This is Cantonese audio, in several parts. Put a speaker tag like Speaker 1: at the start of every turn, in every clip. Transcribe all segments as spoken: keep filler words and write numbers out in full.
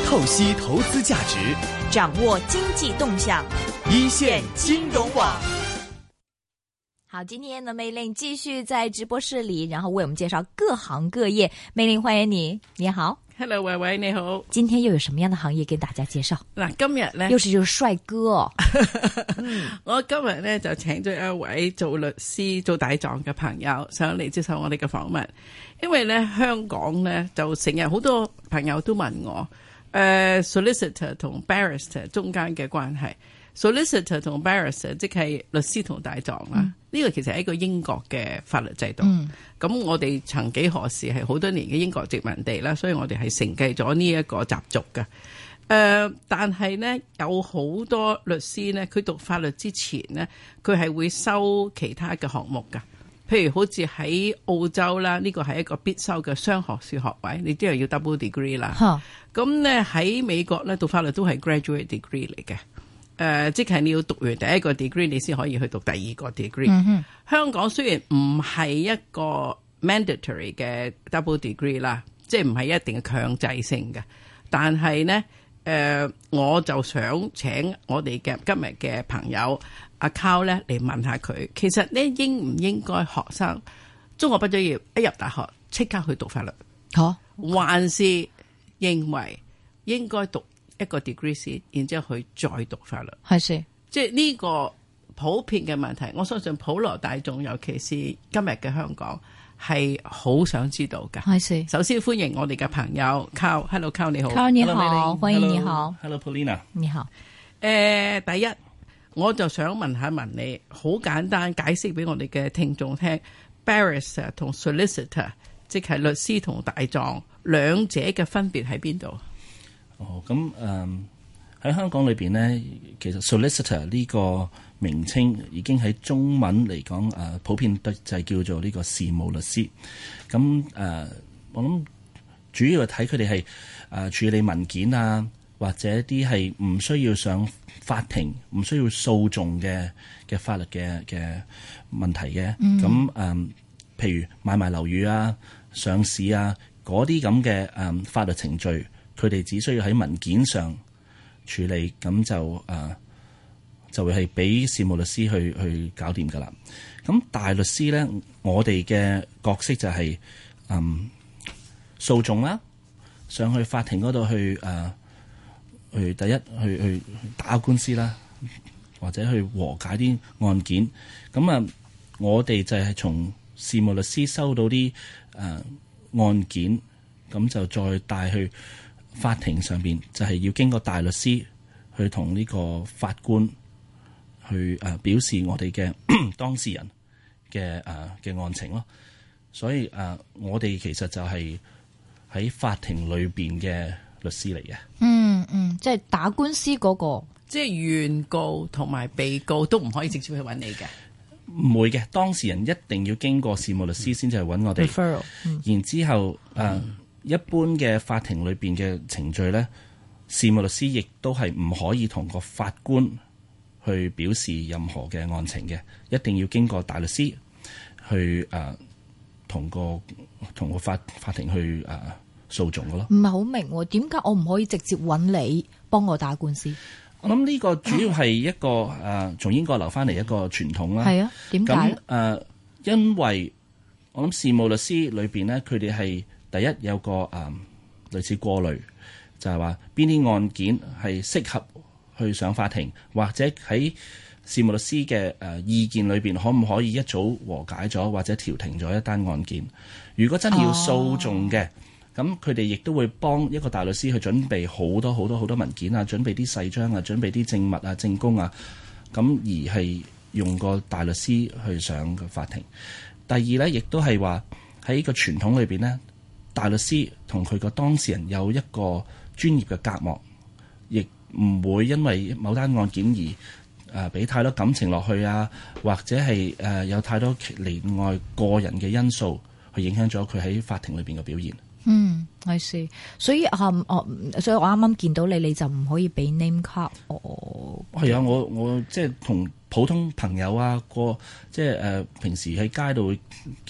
Speaker 1: 透析投資價值，
Speaker 2: 掌握經濟動向，
Speaker 1: 一線金融網。
Speaker 2: 好，今天呢，梅玲繼續在直播室裏，然後為我們介紹各行各業。梅玲，歡迎你，你好。
Speaker 3: Hello， 維維你好。
Speaker 2: 今天又有什麼樣的行業跟大家介紹？
Speaker 3: 嗱，今日咧，
Speaker 2: 又是就是帥哥、哦。
Speaker 3: 我今日咧就請咗一位做律師、做大狀嘅朋友上嚟接受我哋嘅訪問。因為咧香港咧就成日好多朋友都問我，誒、呃、solicitor 同 barrister 中間嘅關係。solicitor 同 barrister 即係律師同大狀啦。呢、嗯、個其實係一個英國嘅法律制度。咁、嗯、我哋曾幾何時係好多年嘅英國殖民地啦，所以我哋係承繼咗呢一個習俗嘅。誒、呃，但係呢，有好多律師呢，佢讀法律之前呢，佢係會修其他嘅項目㗎。譬如好似喺澳洲啦，呢個係一個必修嘅雙學士學位，你都係要 double degree 啦。咁呢喺美國呢，讀法律都係 graduate degree 嚟嘅。誒、呃，即係你要讀完第一個 degree， 你先可以去讀第二個 degree。嗯、香港雖然唔係一個 mandatory 嘅 double degree 啦，即係唔係一定嘅強制性嘅，但係呢，誒、呃，我就想請我哋嘅今日嘅朋友阿 Carl 咧嚟問下佢，其實呢應唔應該學生中學畢咗業一入大學即刻去讀法律？好、啊，還是認為應該讀一個 degree 先，然之後去再讀法律？係是，即係呢個普遍嘅問題，我相信普羅大眾，尤其是今日嘅香港，係好想知道㗎。係是，首先歡迎我哋嘅朋友 Carl，Hello Carl 你好
Speaker 2: ，Carl 你好，歡迎你好
Speaker 4: ，Hello Paulina
Speaker 2: 你好。
Speaker 3: 誒、呃，第一我就想問下問你，好簡單解釋俾我哋嘅聽眾聽 ，barrister 同 solicitor， 即係律師同大狀兩者嘅分別喺邊度？
Speaker 4: 哦，咁誒喺香港裏邊呢，其實 solicitor 呢個名稱已經喺中文嚟講誒，普遍就係叫做呢個事務律師。咁誒、呃，我諗主要係睇佢哋係誒處理文件啊，或者啲係唔需要上法庭、唔需要訴訟嘅嘅法律嘅嘅問題嘅。咁誒、嗯呃，譬如買賣樓宇啊、上市啊嗰啲咁嘅誒法律程序。佢哋只需要喺文件上處理，咁就誒、呃、就會係俾事務律師去去搞掂㗎啦。咁大律師咧，我哋嘅角色就係、是、嗯訴訟啦，上去法庭嗰度去誒、呃、去第一去去打官司啦，或者去和解啲案件。咁啊，我哋就係從事務律師收到啲誒、呃、案件，咁就再帶去法庭上邊，就係要經過大律師去同呢個法官去誒表示我哋嘅當事人嘅誒嘅案情咯。所以誒，我哋其實就係喺法庭裏邊嘅律師嚟嘅。嗯
Speaker 2: 嗯，即係打官司嗰個，
Speaker 3: 即係原告同埋被告都唔可以直接去揾你嘅。
Speaker 4: 唔會嘅，當事人一定要經過事務律師先至係揾我哋。Referral，嗯、然之後誒。呃嗯一般嘅法庭裏邊嘅程序咧，事務律師亦都係唔可以同個法官去表示任何嘅案情嘅，一定要經過大律師去誒同、呃、個同個法法庭去誒、呃、訴訟嘅咯。
Speaker 2: 唔係好明點解我唔可以直接揾你幫我打官司？
Speaker 4: 我諗呢個主要係一個誒、呃、從英國留翻嚟一個傳統啦。係啊，點解？咁、呃、誒，因為我諗事務律師裏邊咧，佢哋係。第一有個誒、嗯、類似過濾，就係話邊啲案件係適合去上法庭，或者喺事務律師嘅誒、呃、意見裏邊，可唔可以一早和解咗或者調停咗一單案件？如果真係要訴訟嘅，咁佢哋亦都會幫一個大律師去準備好多好多好多文件啊，準備啲誓章啊，準備啲證物啊、證供啊，咁而係用個大律師去上個法庭。第二咧，亦都係話喺個傳統裏邊咧。大律師同佢個當事人有一個專業嘅隔膜，亦唔會因為某單案件而誒俾、呃、太多感情落去啊，或者係誒、呃、有太多另外個人嘅因素去影響咗佢喺法庭裏邊嘅表現。
Speaker 2: 嗯，係是，所以啊，我、嗯、所以我啱啱見到你，你就唔可以俾 name card 我。係
Speaker 4: 啊，我我即係同普通朋友啊，過即係誒、呃、平時喺街度見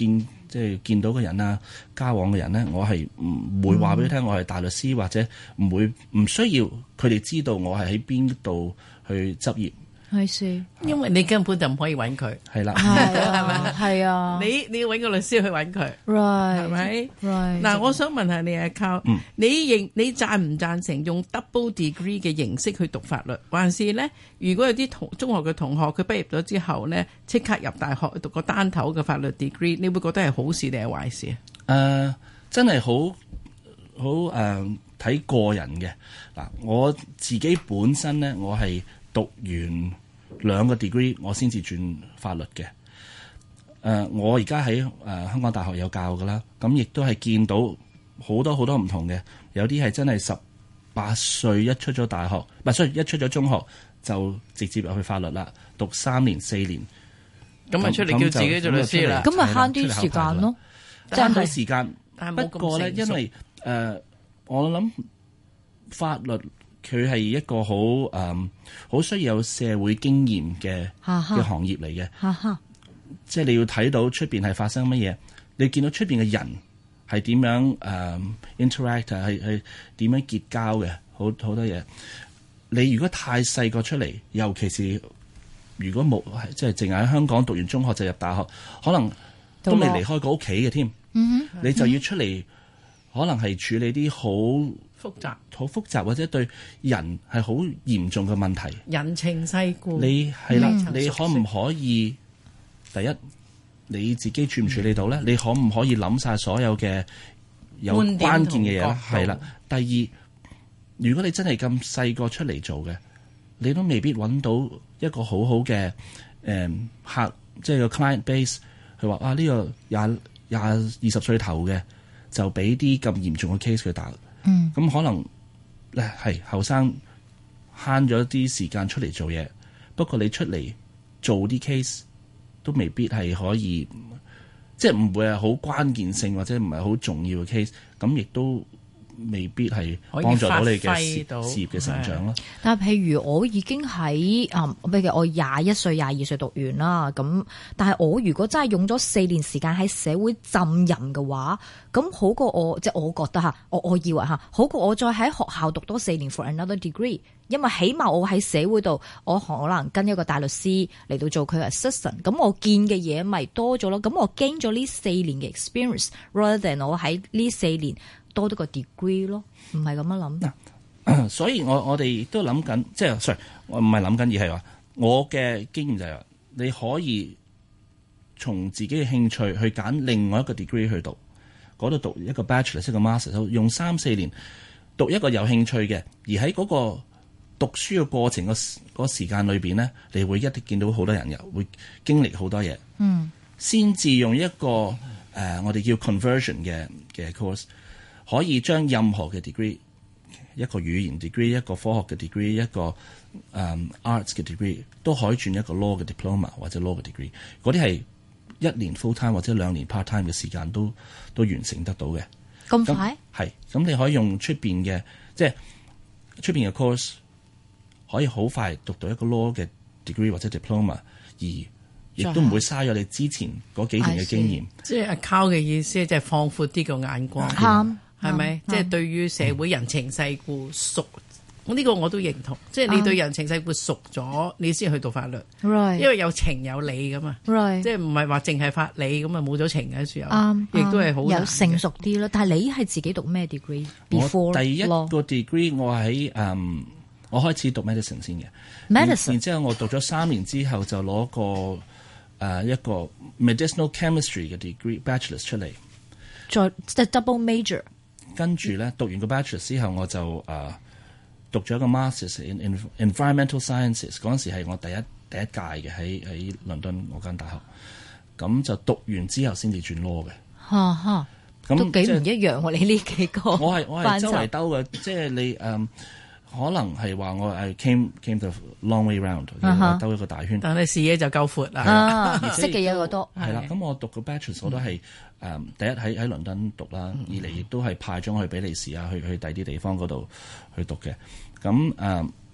Speaker 4: 即係見到嘅人啊，交往嘅人咧，我係唔會話俾佢聽我係大律師，或者唔會唔需要佢哋知道我係喺邊度去執業。
Speaker 2: 係是，
Speaker 3: 因為你根本就唔可以揾佢。
Speaker 4: 係啦，
Speaker 2: 係啊，係啊，
Speaker 3: 你你要揾個律師去揾佢，
Speaker 2: right
Speaker 3: 係咪？
Speaker 2: right
Speaker 3: 嗱，我想問下你阿 Carl，
Speaker 4: 嗯
Speaker 3: 你認你贊唔贊成用 double degree 嘅形式去讀法律，還是咧？如果有啲同中學嘅同學佢畢業咗之後咧，即刻入大學讀個單頭嘅法律 degree， 你會覺得係好事定係壞事啊？誒、
Speaker 4: 呃，真係好好誒睇個人嘅嗱，我自己本身咧，我係讀完兩個 degree， 我先至轉法律嘅。誒、呃，我而家喺誒香港大學有教㗎啦，咁亦都係見到好多好多唔同嘅，有啲係真係十八歲一出咗大學，唔係，所以一出咗中學就直接入去法律啦，讀三年四年，
Speaker 3: 咁咪出嚟叫自己做律師啦，
Speaker 2: 咁咪慳啲時間咯，
Speaker 4: 慳到時間。
Speaker 3: 但
Speaker 4: 不過咧，因為誒、呃，我諗法律佢係一個好誒，好、呃、需要有社會經驗嘅嘅行業嚟嘅。
Speaker 2: 哈哈，
Speaker 4: 即係你要睇到出邊係發生乜嘢，你見到出邊嘅人係點樣誒、呃、interact，係係點樣結交嘅，好好多嘢。你如果太細個出嚟，尤其是如果冇即係淨係喺香港讀完中學就入大學，可能都未離開過屋企嘅添。
Speaker 2: 嗯，
Speaker 4: 你就要出嚟，可能係處理啲好
Speaker 3: 複雜、
Speaker 4: 好複雜或者對人係好嚴重嘅問題。
Speaker 3: 人情世故，
Speaker 4: 你係啦，
Speaker 3: 嗯、
Speaker 4: 你可唔可以第一你自己處唔處理到咧？嗯、你可唔可以諗晒所有嘅有關鍵嘅嘢咧？係啦。第二，如果你真係咁細個出嚟做嘅，你都未必揾到一個好好嘅誒客，即係個 client base。佢話啊，呢、呢個廿廿二十歲頭嘅就俾啲咁嚴重嘅 case 佢打，
Speaker 2: 嗯，
Speaker 4: 咁可能咧係後生慳咗啲時間出嚟做嘢，不過你出嚟做啲 case 都未必係可以，即係唔會係好關鍵性或者唔係好重要嘅 case，咁亦都未必係幫助到你嘅事事業嘅成長咯。
Speaker 2: 但係譬如我已經喺啊，譬如我廿一歲、廿二歲讀完啦，咁但係我如果真係用咗四年時間喺社會浸淫嘅話，咁好過我即係我覺得嚇，我我以為嚇好過我再喺學校讀多四年 for another degree，因為起碼我喺社會度，我可能跟一個大律師嚟到做佢嘅 assistant，咁我見嘅嘢咪多咗咯，咁我經咗呢四年嘅 experience，rather than 我喺呢四年多咗個 degree 咯，唔係咁樣諗。嗱、
Speaker 4: 呃，所以我我哋都諗緊，即係 sorry，我唔係諗緊，而係話我嘅經驗就係話，你可以從自己嘅興趣去揀另外一個 degree 去讀，嗰度讀一個 bachelor 一個 master， 用三四年讀一個有興趣嘅，而喺嗰個讀書嘅過程個嗰個時間裏邊咧，你會一定見到好多人又會經歷好多嘢，嗯，先至用一個誒、呃、我哋叫 conversion 嘅嘅 course。可以將任何嘅 degree， 一個語言 degree， 一個科學嘅 degree， 一個誒、um, arts 嘅 degree， 都可以轉一個 law 嘅 diploma 或者 law 嘅 degree。嗰啲係一年 full time 或者兩年 part time 嘅時間都都完成得到嘅。
Speaker 2: 咁快？
Speaker 4: 係，咁你可以用出邊嘅，即係出邊嘅 course，可以好快讀到一個 law 嘅 degree 或者 diploma， 而亦都唔會嘥咗你之前嗰幾年嘅經驗。
Speaker 3: 即係阿 Carl 嘅意思，即係放闊啲個眼光。
Speaker 2: 啱。
Speaker 3: 係咪？即係對於社會人情世故熟，我、這、呢個我都認同。即係你對人情世故熟咗，你先去讀法律。
Speaker 2: Right.
Speaker 3: 因為有情有理噶嘛。
Speaker 2: Right.
Speaker 3: 即係唔係話淨係法理咁啊，冇咗情嘅時候，
Speaker 2: 啱，
Speaker 3: 亦都係好
Speaker 2: 有成熟啲咯。但係你係自己讀咩 degree？
Speaker 4: 我第一個 degree 我喺誒、嗯，我開始讀 medicine 先嘅。
Speaker 2: medicine
Speaker 4: 然之後我讀咗三年之後就攞個誒、呃、一個 medicinal chemistry 嘅 degree bachelor 出嚟，
Speaker 2: 再即係 double major。
Speaker 4: 跟住咧讀完個 bachelor 之後，我就誒、呃、讀咗一個 masters in, in environmental sciences。嗰陣時係我第一第一屆嘅，喺喺倫敦嗰間大學。咁就讀完之後先至轉 law 嘅。
Speaker 2: 嚇嚇，咁都幾唔一樣喎、啊！你呢幾個
Speaker 4: 我係我係周圍兜嘅，即係你誒、嗯、可能係話我係 came came the long way round，我兜一個大圈。
Speaker 3: 但係視野就夠闊啦，
Speaker 2: 啊、識嘅嘢好多。
Speaker 4: 係啦，咁我讀個 bachelor 我都係。誒、um, 第一喺喺倫敦讀啦，二嚟亦都係派咗我去比利時啊，去去第啲地方嗰度去讀嘅。咁誒、uh,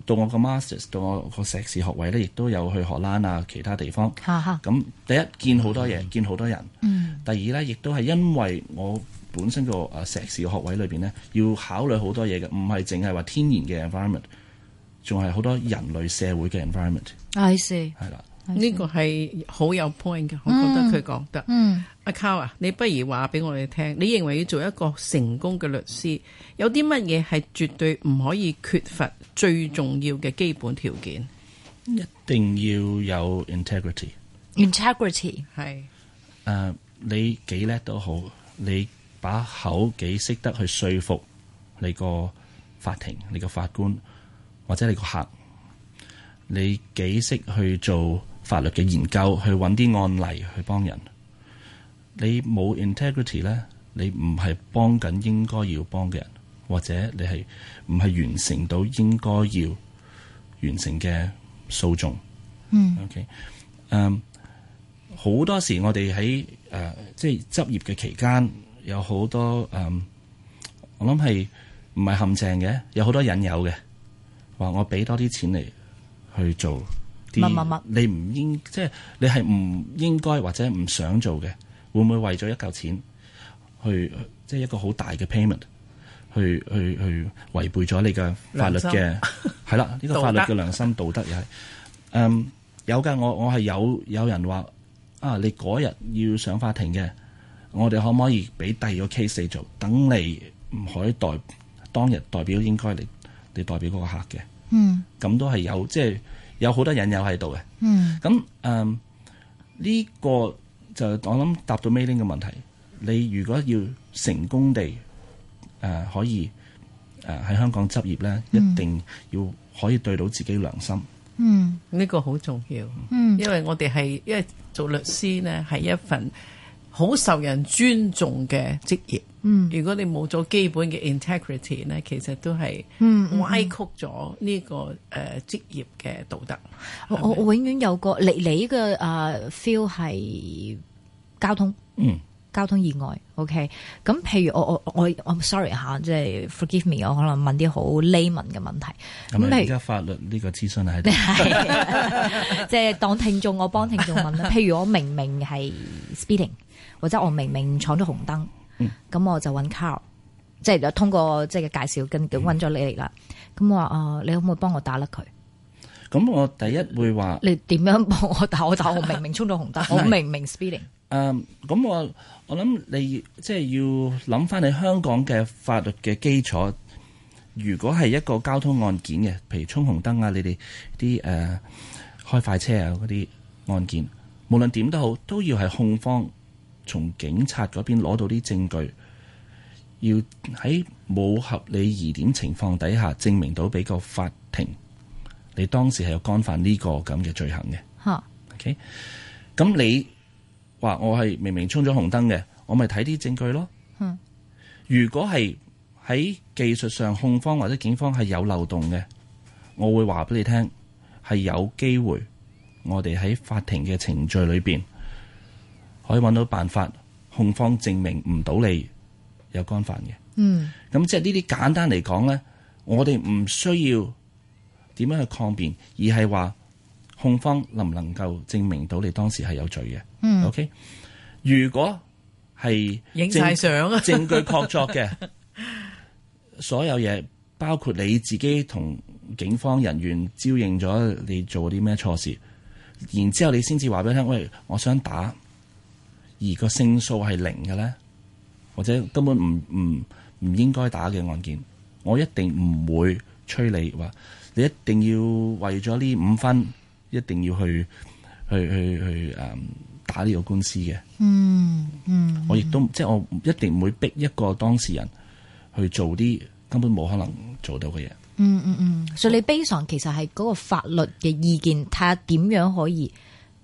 Speaker 4: 到我個 masters 到我個碩士學位咧，亦都有去荷蘭啊其他地方。
Speaker 2: 哈哈。
Speaker 4: 咁第一見好多嘢，嗯、見好多人。
Speaker 2: 嗯。
Speaker 4: 第二咧，亦都係因為我本身個誒碩士學位裏邊咧，要考慮好多嘢嘅，唔係淨係話天然嘅 environment， 仲係好多人類社會嘅 environment。
Speaker 2: I see。
Speaker 4: 係啦。
Speaker 3: 呢個係好有 point 嘅，我覺得佢講得。
Speaker 2: 嗯，
Speaker 3: 阿 Carl 啊，你不如話俾我哋聽，你認為要做一個成功嘅律師，有啲乜嘢係絕對唔可以缺乏最重要嘅基本條件？
Speaker 4: 一定要有 integrity。
Speaker 2: integrity
Speaker 3: 係
Speaker 4: 誒，你幾叻都好，你把口幾識得去說服你個法庭、你個法官或者你個客，你幾識去做法律嘅研究，去揾啲案例去幫人。你冇 integrity 咧，你唔係幫緊應該要幫嘅人，或者你係唔係完成到應該要完成嘅訴訟。
Speaker 2: 嗯
Speaker 4: OK， 誒，好多時我哋喺誒即係執業嘅期間，有好多誒、呃，我諗係唔係陷阱嘅，有好多引誘嘅，話我俾多啲錢嚟去做。
Speaker 2: 乜乜乜？
Speaker 4: 你唔應即係你係唔應該或者唔想做嘅，會唔會為咗一嚿錢去即係一個好大嘅 payment 去去去違背咗你嘅法律嘅係啦？呢、呢個法律嘅良心道德又係誒有㗎。我我係有有人話啊，你嗰日要上法庭嘅，我哋可唔可以俾第二個 case 你做？等你唔可以代當日代表應該你你代表嗰個客嘅。
Speaker 2: 嗯，
Speaker 4: 咁都係有即係。有好多引誘喺度嘅，
Speaker 2: 嗯，咁
Speaker 4: 誒呢個就我諗答到 Mei Ling 嘅問題。你如果要成功地誒、呃、可以誒喺、呃、香港執業咧，嗯、一定要可以對到自己良心。
Speaker 2: 嗯，
Speaker 3: 呢個好重要。
Speaker 2: 嗯，
Speaker 3: 因為我哋係因為做律師呢係一份好受人尊重嘅職業。嗯，如果你冇咗基本嘅 integrity 咧，其實都係歪曲咗呢個誒職業嘅道德。
Speaker 2: 我我我永遠有個你你嘅誒 feel 係交通，
Speaker 4: 嗯，
Speaker 2: 交通意外。OK，咁譬如我我我我 sorry 吓，即係 forgive me，我可能問啲好 layman 嘅問題。
Speaker 4: 咁而家法律呢個諮詢喺度，
Speaker 2: 即係當聽眾，我幫聽眾問啦。譬如我明明係 speeding，或者我明明闖咗紅燈。咁、嗯、我就揾 Carl，即係通過即係嘅介紹，跟住揾咗你嚟啦。咁、嗯、我話啊、呃，你可唔可以幫我打甩佢？
Speaker 4: 咁我第一會話，
Speaker 2: 你點樣幫我打？我打我明明衝咗紅燈，我明明 speeding。誒、
Speaker 4: 嗯，咁我我諗你即係要諗翻你香港嘅法律嘅基礎。如果係一個交通案件嘅，譬如衝紅燈啊，你哋啲誒開快車啊嗰啲案件，無論點都好，都要係控方。從警察嗰邊攞到啲證據，要喺冇合理疑點情況底下證明到俾個法庭，你當時係有干犯呢個咁嘅罪行嘅。嚇哈，OK，咁你話我係明明衝咗紅燈嘅，我咪睇啲證據咯。嗯，如果係喺技術上控方或者警方係有漏洞嘅，我會話俾你聽，係有機會我哋喺法庭嘅程序裏邊。可以揾到辦法，控方證明唔到你有干犯嘅。嗯，咁即係呢啲簡單嚟講咧，我哋唔需要點樣去抗辯，而係話控方能唔能夠證明到你當時係有罪嘅。嗯 ，OK。如果係
Speaker 3: 影晒相啊，
Speaker 4: 證據確鑿嘅，所有嘢包括你自己同警方人員招認咗你做啲咩錯事，然之後你先至話俾佢聽，喂，我想打。而個勝數係零嘅咧，或者根本唔唔唔應該打嘅案件，我一定唔會催你話你一定要為咗呢五分，一定要去去去去誒、嗯、打呢個官司嘅。嗯嗯，我亦都即係我一定唔會逼一個當事人去做啲根本冇可能做到嘅嘢。
Speaker 2: 嗯嗯嗯，所以你 base on其實係嗰個法律嘅意見，睇下點樣可以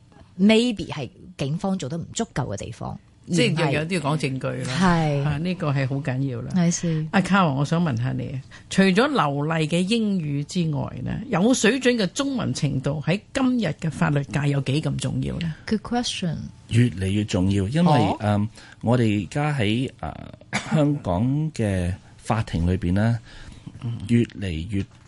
Speaker 2: maybe 係。警方做得唔足夠嘅地方，
Speaker 3: 即係又有啲要講證據啦。係啊，呢個係好緊要啦。係阿 Carl，我想問下你，除咗流利嘅英語之外呢，有水準嘅中文程度喺今日嘅法律界有幾咁重要呢？
Speaker 2: Good question。
Speaker 4: 越嚟越重要，因為誒、哦呃，我哋而家喺誒香港嘅法庭裏邊呢，越嚟越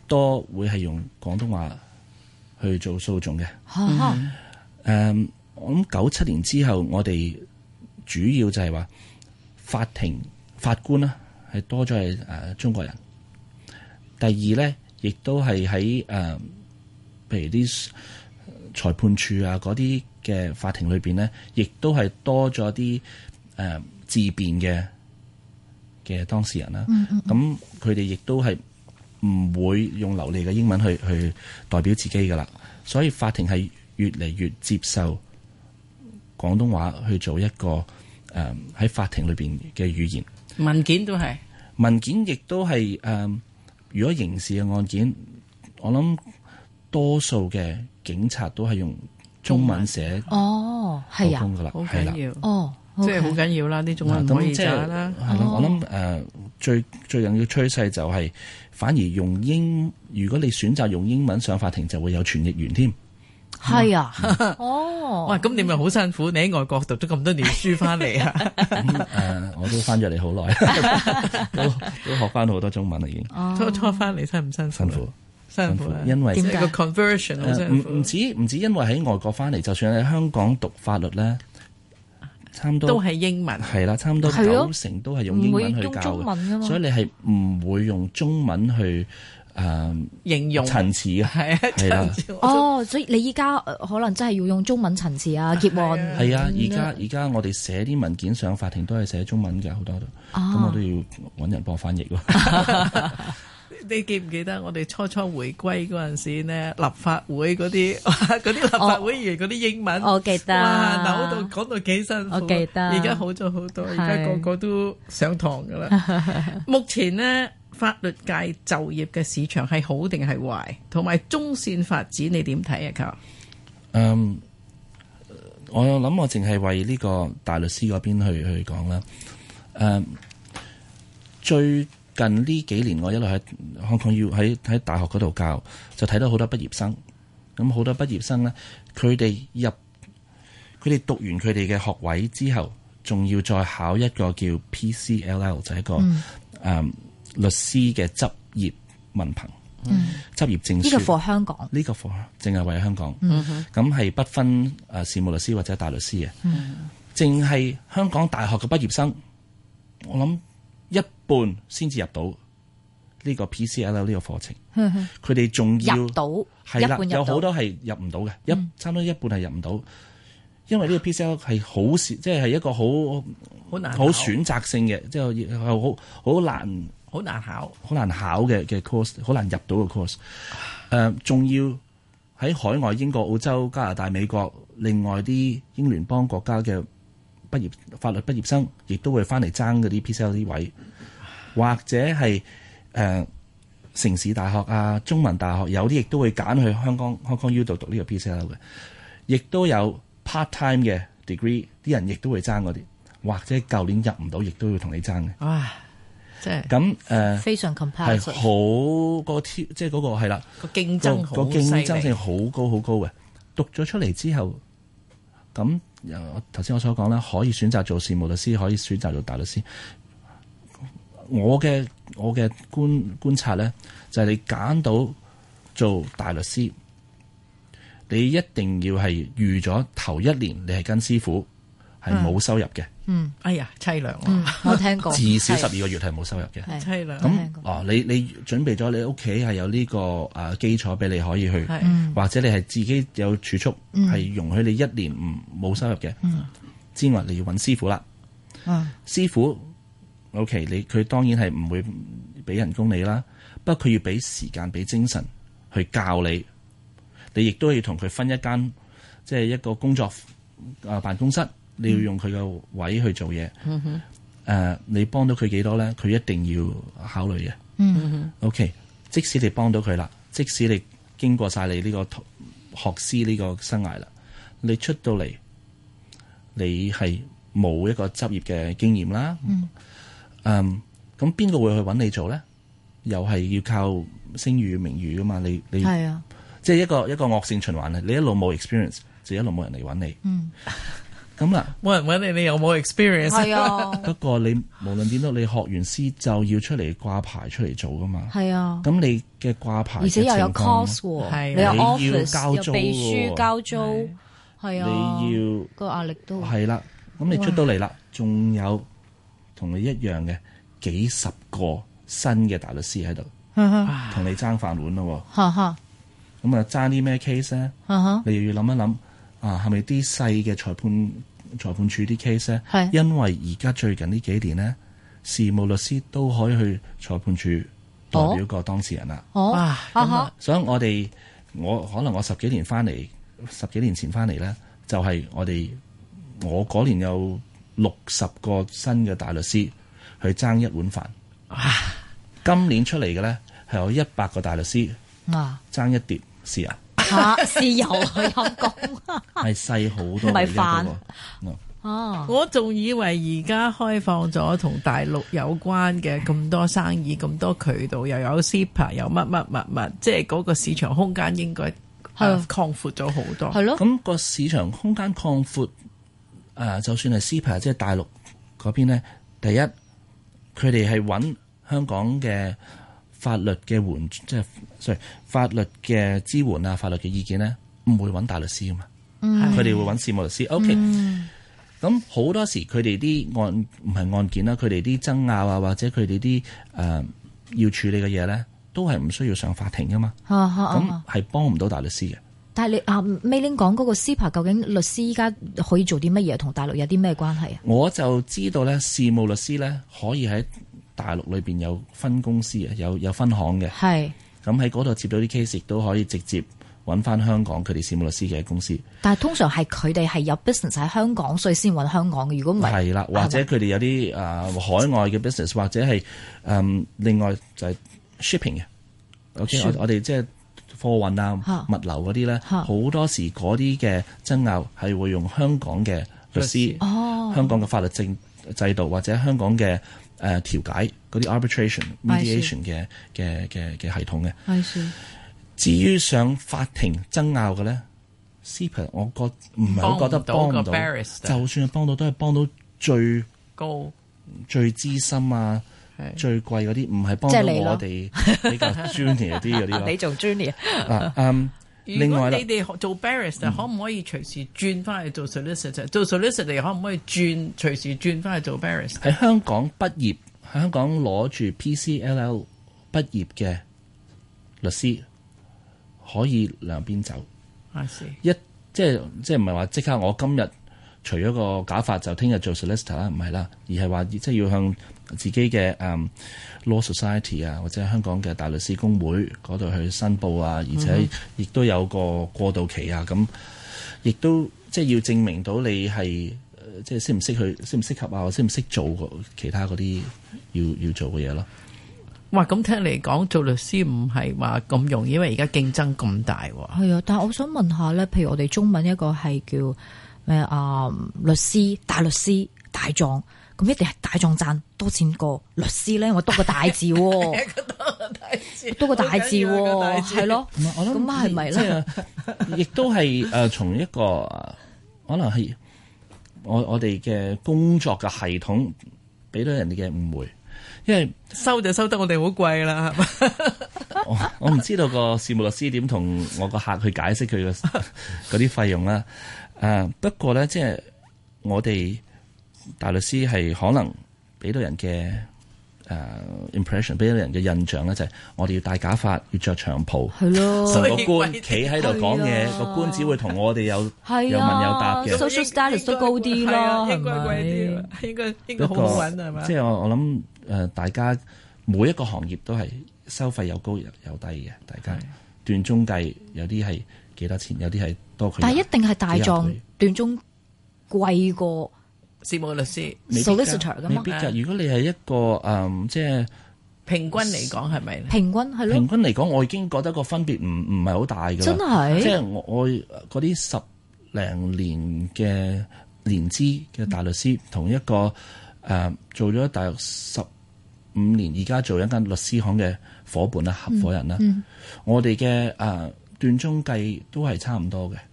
Speaker 4: 多會係用廣東話去做訴訟嘅。
Speaker 2: 嗯
Speaker 4: 誒，我諗九七年之後，我哋主要就係話法庭法官啦，係多咗係誒中國人。第二咧，亦都係喺誒，譬如啲裁判處啊嗰啲嘅法庭裏邊咧，亦都係多咗啲誒自辯嘅嘅當事人啦。咁佢哋亦都係唔會用流利嘅英文去去代表自己噶啦，所以法庭係越嚟越接受廣東話去做一個誒喺、呃、法庭裏邊嘅語言。
Speaker 3: 文件都係
Speaker 4: 文件，亦都係誒。如果刑事嘅案件，我諗多數嘅警察都係用中文寫
Speaker 2: 哦，係啊，
Speaker 3: 好緊要
Speaker 2: 哦，
Speaker 3: 即係好緊要啦，啲中文唔可以渣啦。
Speaker 4: 係咯，我諗誒最最近嘅趨勢就係反而用英，如果你選擇用英文上法庭，就會有傳譯員添。
Speaker 2: 係啊，哦，
Speaker 3: 哇！咁你咪好辛苦，你喺外國讀咗咁多年書翻嚟啊！
Speaker 4: 咁誒，我都翻咗嚟好耐，都都學翻好多中文啦，已經。
Speaker 3: 初初翻嚟辛唔辛苦？
Speaker 4: 辛苦，
Speaker 3: 辛苦，
Speaker 4: 因為
Speaker 3: 即係個 conversion 好辛苦。
Speaker 4: 唔唔止唔止，因為喺外國翻嚟，就算喺香港讀法律咧，差唔多
Speaker 3: 都係英文。
Speaker 4: 係啦，差唔多九成都係用英文去教嘅，所以你係唔會用中文去。誒、嗯、
Speaker 3: 形容
Speaker 4: 陳詞啊，
Speaker 3: 係啊，係啦。
Speaker 2: 哦，所以你依家可能真係要用中文陳詞啊，結案。
Speaker 4: 係啊，而家而家我哋寫啲文件上法庭都係寫中文嘅，好多都。咁、哦、我都要揾人幫我翻譯喎。
Speaker 3: 你記唔記得我哋初初回歸嗰陣時呢？立法會嗰啲嗰啲立法會議員嗰啲英文，
Speaker 2: 我記得。
Speaker 3: 哇，扭到講到幾辛苦。
Speaker 2: 我記得。
Speaker 3: 而家好咗好多，而家個個都上堂噶啦。目前呢，法律界就業嘅市場係好定係壞？同埋中線發展你點睇啊？靠，
Speaker 4: 嗯，我諗我淨係為呢個大律師嗰邊去去講啦。誒、嗯，最近呢幾年我一路喺香港要喺喺大學嗰度教，就睇到好多畢業生。咁好多畢業生咧，佢哋入佢哋讀完佢哋嘅學位之後，仲要再考一個叫 P C L L， 就係一個誒。嗯嗯律師嘅執業文憑，嗯、執業證書。呢、這個課香港，呢、這個課淨係為香港。咁係、嗯、不分誒事務律師或者大律師嘅。淨係、嗯、香港大學嘅畢業生，我諗一半先至入到呢個 P C L L 呢個課程。佢哋仲要
Speaker 2: 入到，
Speaker 4: 係啦，有好多係入唔到嘅，一、嗯、差唔多一半係入唔到，因為呢個 P C L L 係好少，即係係一個好好難、好選擇性嘅，即係係好好難。
Speaker 3: 好難考，
Speaker 4: 好難考嘅嘅 course， 好難入到嘅 course。誒、呃，仲要喺海外英國、澳洲、加拿大、美國，另外啲英聯邦國家嘅畢業法律畢業生，亦都會翻嚟爭嗰啲 P C L L 位，或者係誒、呃、城市大學啊、中文大學，有啲亦都會揀去香港 Hong Kong U 度讀呢個 P C L L 嘅，亦都有 part time 嘅 degree， 啲人亦都會爭嗰啲，或者舊年入唔到，亦都要同你爭嘅。
Speaker 3: 哇！
Speaker 4: 咁誒，
Speaker 2: 非常 competitive，
Speaker 4: 係好個挑，即係嗰個係啦，
Speaker 3: 個競爭好，
Speaker 4: 個競爭性好高好高嘅。讀咗出嚟之後，咁頭先我所講啦，可以選擇做事務律師，可以選擇做大律師。我嘅我嘅觀觀察咧，就係、是、你揀到做大律師，你一定要係預咗頭一年你係跟師傅，係冇收入嘅。
Speaker 2: 嗯，
Speaker 3: 哎呀，凄涼、
Speaker 2: 嗯！我聽過，
Speaker 4: 至少十二個月係冇收入嘅，
Speaker 3: 凄涼。
Speaker 4: 咁哦，你你準備咗你屋企係有呢個誒基礎俾你可以去，
Speaker 3: 嗯、
Speaker 4: 或者你係自己有儲蓄，係、嗯、容許你一年唔冇收入嘅，嗯、之外你要揾師傅啦。嗯、師傅 OK， 你佢當然係唔會俾人工你啦，不過佢要俾時間、俾精神去教你，你亦都要同佢分一間即係一個工作啊辦公室。你要用佢個位去做嘢，誒、嗯哼呃，你幫到佢幾多咧？佢一定要考慮嘅。嗯、哼 OK，即使你幫到佢啦，即使你經過晒你呢個學師呢個生涯啦，你出到嚟，你係冇一個執業嘅經驗啦。嗯，咁邊個會去揾你做咧？又係要靠聲譽名譽噶嘛？你你係啊，即係一個一個惡性循環啊！你一路冇 experience，就一路冇人嚟揾你。嗯。 咁啦，
Speaker 3: 冇人揾你，你有冇 experience？
Speaker 2: 係啊，
Speaker 4: 不過你無論點都，你學完師就要出嚟掛牌出嚟做噶嘛。
Speaker 2: 係啊，
Speaker 4: 咁你嘅掛牌，
Speaker 2: 而且又有 cost 喎，
Speaker 3: 係
Speaker 2: 你有
Speaker 4: 你要
Speaker 2: office
Speaker 4: 交租
Speaker 2: 有秘書交租，係啊，
Speaker 4: 你要
Speaker 2: 個壓力都
Speaker 4: 係啦。咁你出到嚟啦，仲有同你一樣嘅幾十個新嘅大律師喺度，同你爭飯碗咯。
Speaker 2: 哈哈，
Speaker 4: 咁啊爭啲咩 case 咧？你又要諗一諗啊，係咪啲細嘅裁判裁判處啲 case 咧？
Speaker 2: 係
Speaker 4: 因為而家最近呢幾年咧，事務律師都可以去裁判處代表個當事人啦。
Speaker 2: 哦，
Speaker 3: 哇，咁啊，
Speaker 4: 所以我哋我可能我十幾年翻嚟，十幾年前翻嚟咧，就係、是、我哋我嗰年有六十個新嘅大律師去爭一碗飯。今年出嚟嘅咧係有一百個大律師
Speaker 2: 啊，
Speaker 4: 爭一碟豉油。
Speaker 2: 嚇豉油係陰公，
Speaker 4: 係細好多
Speaker 2: 唔係
Speaker 4: 嘅
Speaker 2: 飯
Speaker 4: 一個
Speaker 2: 哦，
Speaker 3: 我仲以為而家開放咗同大陸有關嘅咁多生意、咁多渠道，又有 S I P A， 又乜乜乜乜，即係嗰個市場空間應該係、呃、擴闊咗好多。
Speaker 2: 係咯，
Speaker 4: 咁個市場空間擴闊，誒、呃，就算係 S I P A， 即係大陸嗰邊咧，第一佢哋係揾香港嘅法律嘅援，即係 sorry 法律嘅支援啊，法律嘅意見咧，唔會揾大律師噶嘛，佢哋、嗯、會揾事務律師。OK，咁好、嗯、多時佢哋啲案唔係案件啦，佢哋啲爭拗啊，或者佢哋啲誒要處理嘅嘢咧，都係唔需要上法庭噶嘛，咁係幫唔到大律師嘅。
Speaker 2: 但係你啊 Meiling 講嗰個 S I P A， 究竟律師依家可以做啲乜嘢？同大陸有啲咩關係啊？
Speaker 4: 我就知道咧，事務律師咧可以喺大陸裏邊有分公司嘅，有有分行嘅。係咁喺嗰度接到啲 case，亦都可以直接揾翻香港佢哋事務律師嘅公司。但係通常係佢哋係有 business 喺香港，所以先揾香港嘅。如果唔係，係啦，或者佢哋有啲啊、呃、海外嘅 business， 或者係誒、呃、另外就係 shipping 嘅。OK， 我我哋即係貨運啊、物流嗰啲咧，好多時嗰啲嘅爭拗係會用香港嘅律師、哦、香港嘅法律政制度或者香港嘅。誒、呃、調解嗰啲 arbitration mediation 嘅嘅嘅嘅系統嘅。至於上法庭爭拗嘅咧 S I P A 我覺唔係好覺得幫唔到，就算係幫到都係幫到最高、最資深啊、最貴嗰啲，唔係幫到我哋比較 junior 啲嗰啲。你做 junior 啊？嗯。另外啦，如果你哋做 barrister，嗯、可唔可以隨時轉翻去做 solicitor？做 solicitor 可唔可以轉隨時轉翻去做 barrister？喺香港畢業，喺香港攞住 P C L L 畢業嘅律師可以兩邊走。I see. 一即係即係唔係話即刻我今日除咗個假髮就聽日做 solicitor 啦，唔係啦，而係話即係要向自己嘅誒、um, law society 啊，或者香港嘅大律師公會嗰度去申報啊，而且亦都有個過渡期啊，咁亦都即係要證明到你係即係識唔識去適唔適合啊，或者識唔識做其他嗰啲要要做嘅嘢咯。哇！咁聽嚟講做律師唔係話咁容易，因為而家競爭咁大喎。係啊，但係我想問下咧，譬如我哋中文一個係叫咩啊、呃？律師、大律師、大狀。咁一定係大狀賺多錢過律師咧，我多個大字，多個大字，多個大字，係咯。我諗咁係咪咧？亦都係誒，從一個可能係我我哋嘅工作嘅系統俾到人哋嘅誤會，因為收就收得我哋好貴啦，係嘛？我我唔知道個事務律師點同我個客去解釋佢嘅嗰啲費用啦。誒，不過咧，即係我哋。大律師係可能俾到人嘅誒、uh, impression， 俾到人嘅印象咧，就係我哋要戴假髮，要着長袍，係咯，同個官企喺度講嘢，個、啊、官只會同我哋有、啊、有問有答嘅 social status 都高啲咯，係咪？應該貴啲，應該應該好好揾係嘛？即係我我諗誒，大家每一個行業都係收費有高有低嘅，大家斷中計有啲係幾多錢，有啲係多佢。但係一定係大狀斷中貴過。事務律師 solicitor 咁，未必㗎。如果你係一個誒、嗯，即係平均嚟講係咪？平均係咯。平均嚟講，我已經覺得個分別唔唔係好大㗎。真係，即係我我嗰啲十零年嘅年資嘅大律師，同一個誒、呃、做咗大約十五年，而家做一間律師行嘅伙伴啦、合夥人啦，嗯嗯、我哋嘅誒斷中計都係差唔多嘅。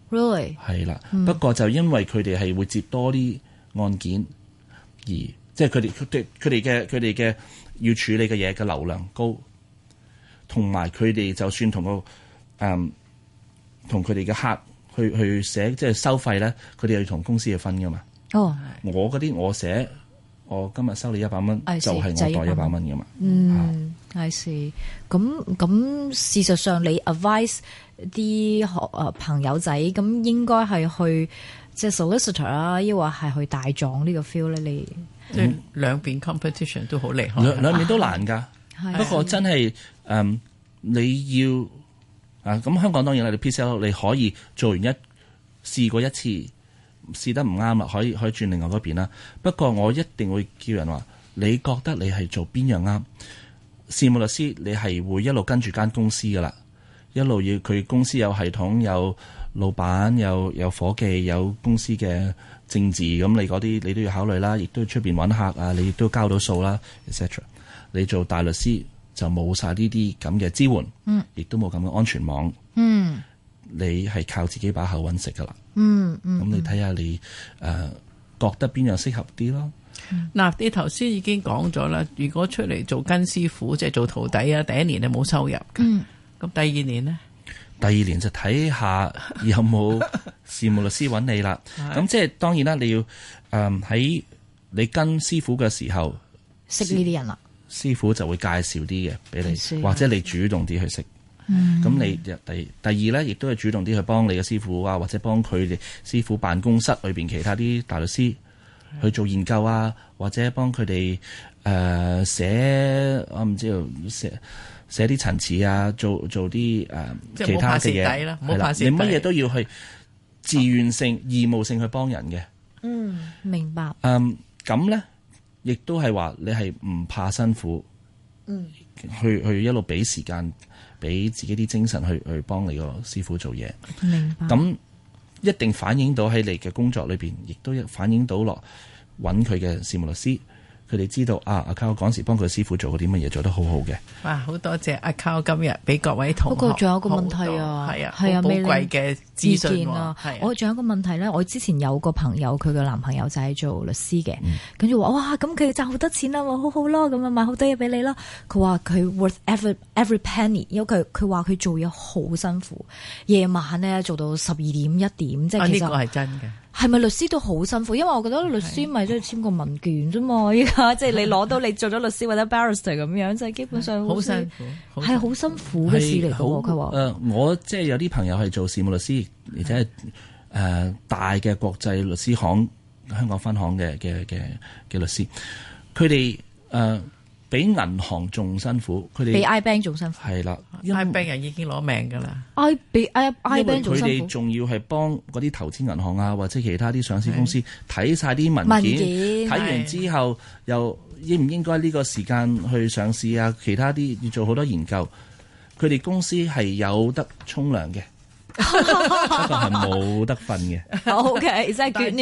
Speaker 2: Really？
Speaker 4: 係啦，
Speaker 2: 嗯、
Speaker 4: 不過就因為佢哋係會接多啲案件，而即係佢哋佢哋佢哋嘅佢哋嘅要處理嘅嘢嘅流量高，同埋佢哋就算同個誒同佢哋嘅客去去寫即係收費咧，佢哋要同公司去分噶嘛。
Speaker 2: 哦，
Speaker 4: 我嗰啲我寫，我今日收你一百蚊，
Speaker 2: I see，
Speaker 4: 就係我袋一百蚊噶嘛。
Speaker 2: 嗯，係是。咁咁事實上，你 advise 啲學誒朋友仔，咁應該係去即係 solicitor 啊，抑或係去大狀呢個 feel 咧？你
Speaker 3: 即係兩邊 competition 都好厲害，
Speaker 4: 兩兩邊都難㗎。
Speaker 2: 啊、
Speaker 4: 不過真係誒、嗯，你要啊咁香港當然啦，你 P C L 你可以做完一試過一次，試得唔啱啦，可以可以轉另外嗰邊啦。不過我一定會叫人話，你覺得你係做邊樣啱？事務律師你係會一路跟住間公司㗎啦，一路要佢公司有系統，有老闆，有有夥計，有公司嘅政治，咁你嗰啲你都要考慮啦，亦都要出邊揾客啊，你亦都交到數啦 et cetera。你做大律師就冇晒呢啲咁嘅支援，嗯，亦都冇咁嘅安全網，
Speaker 2: 嗯，
Speaker 4: 你係靠自己把口揾食噶啦，
Speaker 2: 嗯嗯，
Speaker 4: 咁你睇下你誒、呃、覺得邊樣適合啲咯？
Speaker 3: 嗱、嗯，你頭先已經講咗啦，如果出嚟做跟師傅，即係做徒弟啊，第一年係冇收入嘅，嗯，咁第二年呢？
Speaker 4: 第二年就睇下有冇事務律師揾你啦。咁即係當然啦，你要誒喺、呃、你跟師傅嘅時候
Speaker 2: 識呢啲人啦。
Speaker 4: 師傅就會介紹啲嘅俾你，
Speaker 2: 是
Speaker 4: 或者你主動啲去識。咁、嗯、你第第二咧，亦都係主動啲去幫你嘅師傅啊，或者幫佢哋師傅辦公室裏邊其他啲大律師去做研究啊，或者幫佢哋誒寫我唔知道寫寫啲陳詞啊，做做啲誒、呃、其他嘅嘢。係啦，你乜嘢都要去自願性、哦、義務性去幫人嘅。
Speaker 2: 嗯，明白。
Speaker 4: 嗯，咁咧。亦都係話你係唔怕辛苦，嗯，去去一路俾時間，俾自己啲精神去去幫你個師傅做嘢。
Speaker 2: 明白。
Speaker 4: 咁一定反映到喺你嘅工作裏邊，亦都反映到落揾佢嘅事務律師。佢哋知道啊，阿 Carl 嗰時幫佢師傅做過啲乜嘢，做得好好嘅。
Speaker 3: 哇！好多謝阿 Carl 今日俾各位同學。
Speaker 2: 不過仲有個問題啊，
Speaker 3: 係啊，係啊，寶貴嘅資訊啊。
Speaker 2: 我仲有個問題咧，我之前有個朋友，佢嘅男朋友就係做律師嘅，跟住話哇，咁佢賺好多錢啦，好好咯，咁啊買好多嘢俾你咯。佢話佢 worth every every penny，因為佢佢話佢做嘢好辛苦，夜晚咧做到十二點一點，即係其實
Speaker 3: 呢個係真嘅。
Speaker 2: 係咪律師都好辛苦？因為我覺得律師咪即係簽個文件啫嘛，依家即係你攞到你做咗律師或者 barrister 咁樣，即係基本上
Speaker 3: 好辛苦，
Speaker 2: 係好辛苦嘅事嚟嘅。佢話
Speaker 4: 誒，我即係有啲朋友係做事務律師，而且係誒大嘅國際律師行香港分行嘅嘅嘅嘅律師，佢哋誒比銀行仲辛苦，佢哋
Speaker 2: 比 iBank 仲辛苦。
Speaker 4: 係啦
Speaker 3: ，iBank 人已經攞命㗎啦。
Speaker 2: I 比 I iBank 仲辛苦。
Speaker 4: 佢哋仲要係幫嗰啲投資銀行啊，或者其他啲上市公司睇晒啲文件，睇完之後又應唔應該呢個時間去上市啊？其他啲要做好多研究。佢哋公司係有得沖涼嘅。不過係冇得瞓嘅。
Speaker 2: O K， 真係 good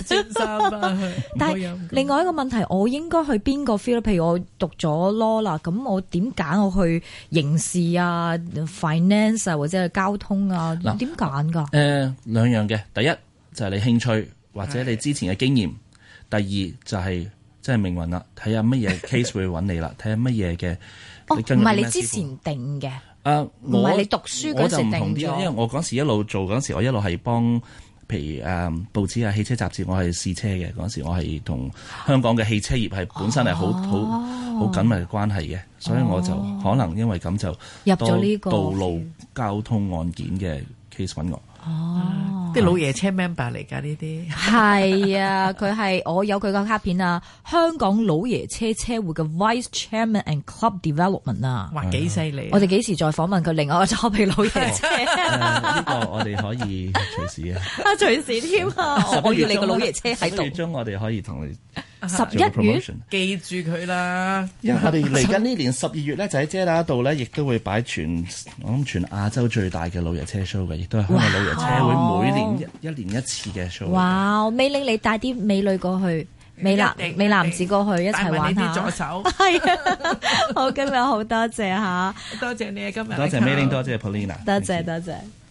Speaker 2: news。但係另外一個問題，我應該去邊個 field？譬如我讀咗 law 啦，咁我點揀我去刑事啊、finance 啊，或者係交通啊？點揀㗎？誒、
Speaker 4: 呃，兩樣嘅。第一就係、是、你興趣或者你之前嘅經驗。第二就係即係命運啦，睇下乜嘢 case 會揾你啦，睇下乜嘢嘅。
Speaker 2: 哦，唔係你之前定嘅。
Speaker 4: 啊！
Speaker 2: 唔係你讀書嗰時定咗，
Speaker 4: 因為我嗰時一路做嗰時，我一路係幫，譬如誒、嗯、報紙啊、汽車雜誌，我係試車嘅嗰時，我係同香港嘅汽車業係本身係好好好緊密嘅關係嘅，所以我就可能因為咁就
Speaker 2: 入咗呢個
Speaker 4: 道路交通案件嘅 case 揾我。
Speaker 3: 哦，啲老爺車 member 嚟㗎呢啲，
Speaker 2: 係啊，佢係我有佢個卡片啊，香港老爺車車會嘅 Vice Chairman and Club Development 啊，
Speaker 3: 哇幾犀利！
Speaker 2: 我哋幾時再訪問佢另外一個 topic 老爺車？
Speaker 4: 呢個我哋可以隨時啊，
Speaker 2: 啊隨時添啊！我要你個老爺車喺度。
Speaker 4: 十一月中我哋可以同你。
Speaker 2: 十一月
Speaker 3: 記住佢啦，
Speaker 4: 因為我哋嚟緊呢年十二月咧，就喺遮打度咧，亦都會擺全我諗全亞洲最大嘅老爺車 show 嘅，亦都係香港老爺車會每年一一年一次嘅 show。哇！
Speaker 2: 美玲你帶啲美女過去，美男美男子過去一齊玩下。
Speaker 3: 帶埋你啲助手。
Speaker 2: 係啊，好今日好多謝吓，
Speaker 3: 多謝你啊今日。
Speaker 4: 多謝美玲，多謝 Paulina，
Speaker 2: 多謝多謝。